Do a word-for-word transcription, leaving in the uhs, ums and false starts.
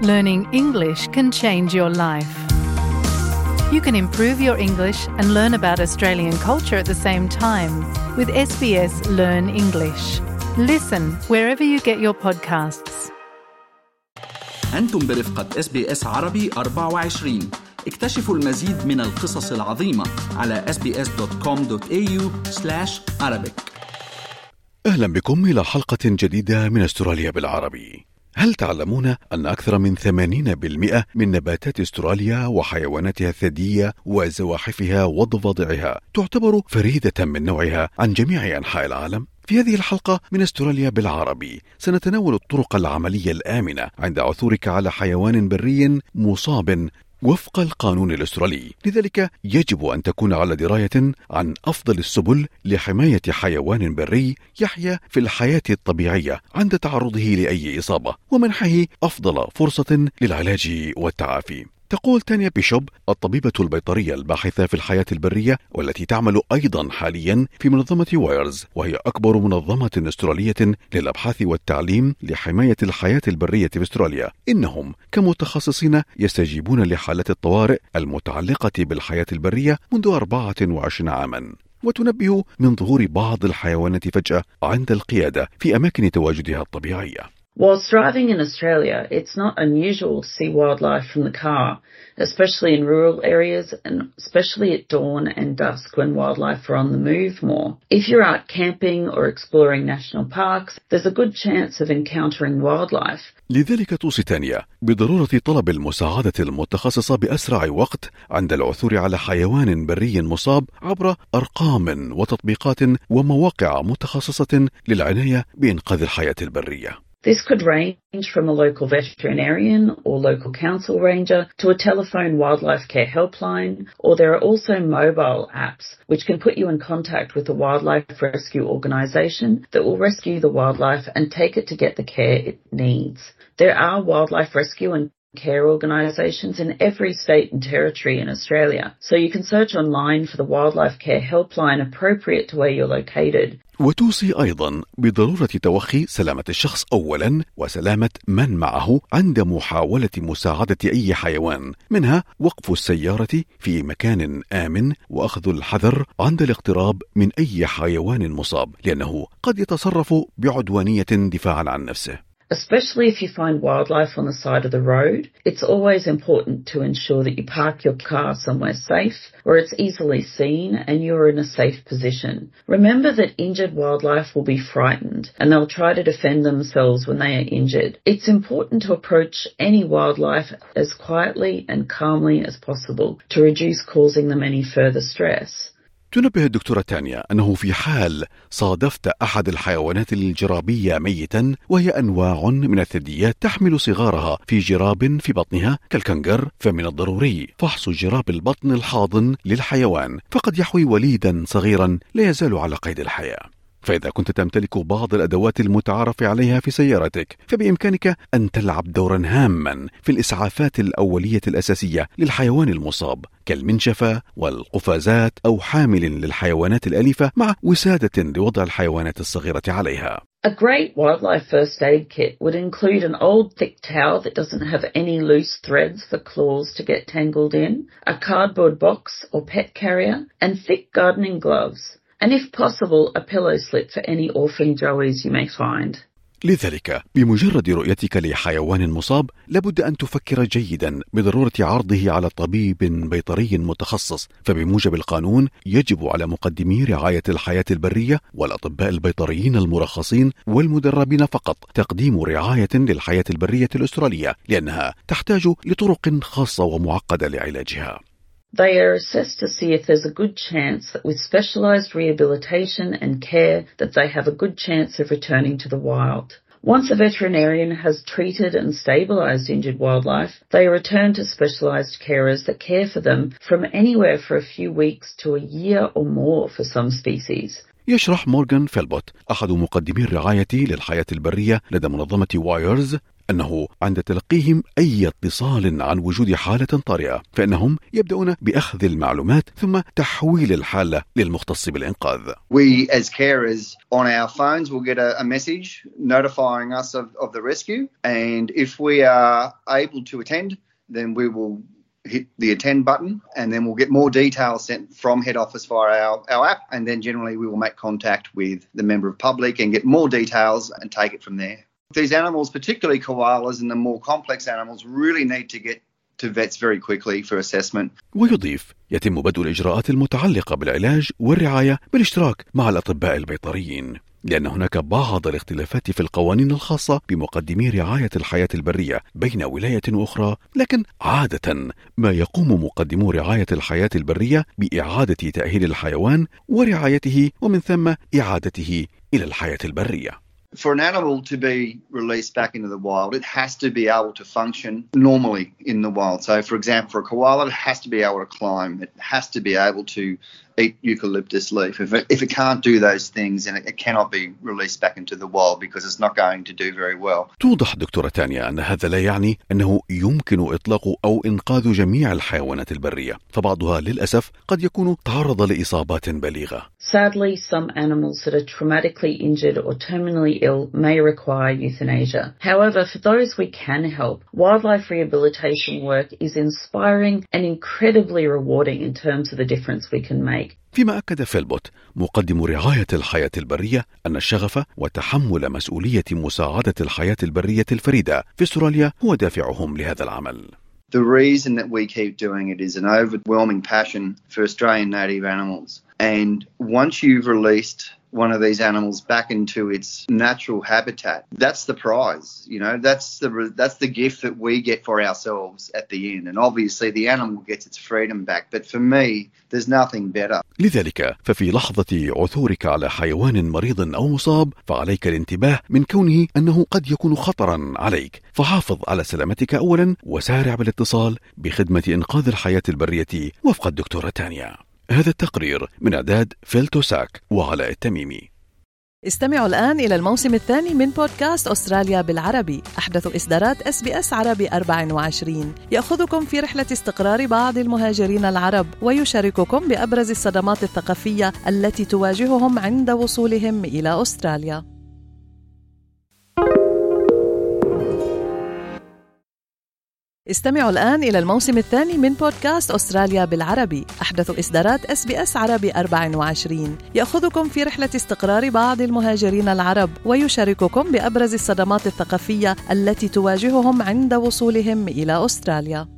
Learning English can change your life. You can improve your English and learn about Australian culture at the same time with S B S Learn English. Listen wherever you get your podcasts. أنتم برفقة إس بي إس عربي أربعة وعشرين. اكتشفوا المزيد من القصص العظيمة على إس بي إس دوت كوم دوت إيه يو سلاش عربيك. أهلا بكم إلى حلقة جديدة من أستراليا بالعربي. هل تعلمون أن أكثر من ثمانين بالمئة من نباتات أستراليا وحيواناتها الثديية وزواحفها وضفادعها تعتبر فريدة من نوعها عن جميع أنحاء العالم؟ في هذه الحلقة من أستراليا بالعربي سنتناول الطرق العملية الآمنة عند عثورك على حيوان بري مصاب وفق القانون الأسترالي. لذلك يجب أن تكون على دراية عن أفضل السبل لحماية حيوان بري يحيا في الحياة الطبيعية عند تعرضه لأي إصابة، ومنحه أفضل فرصة للعلاج والتعافي. تقول تانيا بيشوب الطبيبة البيطرية الباحثة في الحياة البرية والتي تعمل أيضا حاليا في منظمة وايرز، وهي أكبر منظمة أسترالية للأبحاث والتعليم لحماية الحياة البرية في أستراليا، إنهم كمتخصصين يستجيبون لحالات الطوارئ المتعلقة بالحياة البرية منذ أربعة وعشرين عاما، وتنبه من ظهور بعض الحيوانات فجأة عند القيادة في أماكن تواجدها الطبيعية. Whilst driving in Australia, it's not unusual to see wildlife from the car, especially in rural areas and especially at dawn and dusk when wildlife are on the move more. If you're out camping or exploring national parks, there's a good chance of encountering wildlife. لذلك توصي تانيا بضرورة طلب المساعدة المتخصصة بأسرع وقت عند العثور على حيوان بري مصاب عبر أرقام وتطبيقات ومواقع متخصصة للعناية بإنقاذ الحياة البرية. This could range from a local veterinarian or local council ranger to a telephone wildlife care helpline, or there are also mobile apps which can put you in contact with a wildlife rescue organisation that will rescue the wildlife and take it to get the care it needs. There are wildlife rescue and care organisations in every state and territory in Australia, so you can search online for the wildlife care helpline appropriate to where you're located. وتوصي أيضا بضرورة توخي سلامة الشخص أولا وسلامة من معه عند محاولة مساعدة أي حيوان، منها وقف السيارة في مكان آمن وأخذ الحذر عند الاقتراب من أي حيوان مصاب، لأنه قد يتصرف بعدوانية دفاعا عن نفسه. Especially if you find wildlife on the side of the road, it's always important to ensure that you park your car somewhere safe where it's easily seen and you're in a safe position. Remember that injured wildlife will be frightened and they'll try to defend themselves when they are injured. It's important to approach any wildlife as quietly and calmly as possible to reduce causing them any further stress. تنبه الدكتورة تانيا أنه في حال صادفت أحد الحيوانات الجرابية ميتا، وهي أنواع من الثدييات تحمل صغارها في جراب في بطنها كالكنغر، فمن الضروري فحص جراب البطن الحاضن للحيوان، فقد يحوي وليدا صغيرا لا يزال على قيد الحياة. فإذا كنت تمتلك بعض الأدوات المتعارف عليها في سيارتك، فبإمكانك أن تلعب دورا هاما في الإسعافات الأولية الأساسية للحيوان المصاب كالمنشفة والقفازات أو حامل للحيوانات الأليفة مع وسادة لوضع الحيوانات الصغيرة عليها. A great wildlife first aid kit would include an old thick towel that doesn't have any loose threads for claws to get tangled in, a cardboard box or pet carrier, and thick gardening gloves. And if possible, a pillow slip for any orphan joeys you may find. لذلك بمجرد رؤيتك لحيوان مصاب لابد أن تفكر جيدا بضرورة عرضه على طبيب بيطري متخصص، فبموجب القانون يجب على مقدمي رعاية الحياة البرية والأطباء البيطريين المرخصين والمدربين فقط تقديم رعاية للحياة البرية الأسترالية، لأنها تحتاج لطرق خاصة ومعقدة لعلاجها. They are assessed to see if there's a good chance that with specialised rehabilitation and care that they have a good chance of returning to the wild. Once a veterinarian has treated and stabilised injured wildlife, they return to specialised carers that care for them from anywhere for a few weeks to a year or more for some species. يشرح مورغان فيلبوت أحد مقدمي الرعاية للحياة البرية لدى منظمة وايرز أنه عند تلقيهم أي اتصال عن وجود حالة طارئة فإنهم يبدأون بأخذ المعلومات ثم تحويل الحالة للمختص بالإنقاذ. We as carers on our phones will get a, a message notifying us of, of the rescue, and if we are able to attend, then we will hit the attend button, and then we'll get more details sent from head office via our, our app, and then generally we will make contact with the member of public and get more details and take it from there. These animals, particularly koalas and the more complex animals, really need to get to vets very quickly for assessment. ويضيف يتم بدء الإجراءات المتعلقة بالعلاج والرعاية بالاشتراك مع الأطباء البيطريين، لأن هناك بعض الاختلافات في القوانين الخاصة بمقدمي رعاية الحياة البرية بين ولاية وأخرى، لكن عادة ما يقوم مقدمو رعاية الحياة البرية بإعادة تأهيل الحيوان ورعايته ومن ثم إعادته إلى الحياة البرية. For an animal to be released back into the wild, it has to be able to function normally in the wild. So, for example, for a koala, it has to be able to climb. It has to be able to eat eucalyptus leaf. If it, if it can't do those things, then it, it cannot be released back into the wild because it's not going to do very well. توضح دكتورة تانيا أن هذا لا يعني أنه يمكن إطلاق أو إنقاذ جميع الحيوانات البرية، فبعضها للأسف قد يكون تعرض لإصابات بليغة. Sadly, some animals that are traumatically injured or terminally ill may require euthanasia. However, for those we can help, wildlife rehabilitation work is inspiring and incredibly rewarding in terms of the difference we can make. فيما أكد فيلبوت مقدم رعاية الحياة البرية أن الشغف وتحمل مسؤولية مساعدة الحياة البرية الفريدة في أستراليا هو دافعهم لهذا العمل. The reason that we keep doing it is an overwhelming passion for Australian native animals. And once you've released one of these animals back into its natural habitat, that's the prize. You know, that's the that's the gift that we get for ourselves at the end. And obviously the animal gets its freedom back. But for me, there's nothing better. لذلك ففي لحظة عثورك على حيوان مريض أو مصاب فعليك الانتباه من كونه أنه قد يكون خطرا عليك، فحافظ على سلامتك أولا وسارع بالاتصال بخدمة إنقاذ الحياة البرية وفق الدكتورة تانيا. هذا التقرير من إعداد فيلتوساك وعلاء التميمي. استمعوا الآن إلى الموسم الثاني من بودكاست أستراليا بالعربي، أحدث إصدارات إس بي إس عربي أربعة وعشرين، يأخذكم في رحلة استقرار بعض المهاجرين العرب ويشارككم بأبرز الصدمات الثقافية التي تواجههم عند وصولهم إلى أستراليا. استمعوا الآن إلى الموسم الثاني من بودكاست أستراليا بالعربي، أحدث إصدارات إس بي إس عربي أربعة وعشرين، يأخذكم في رحلة استقرار بعض المهاجرين العرب ويشارككم بأبرز الصدمات الثقافية التي تواجههم عند وصولهم إلى أستراليا.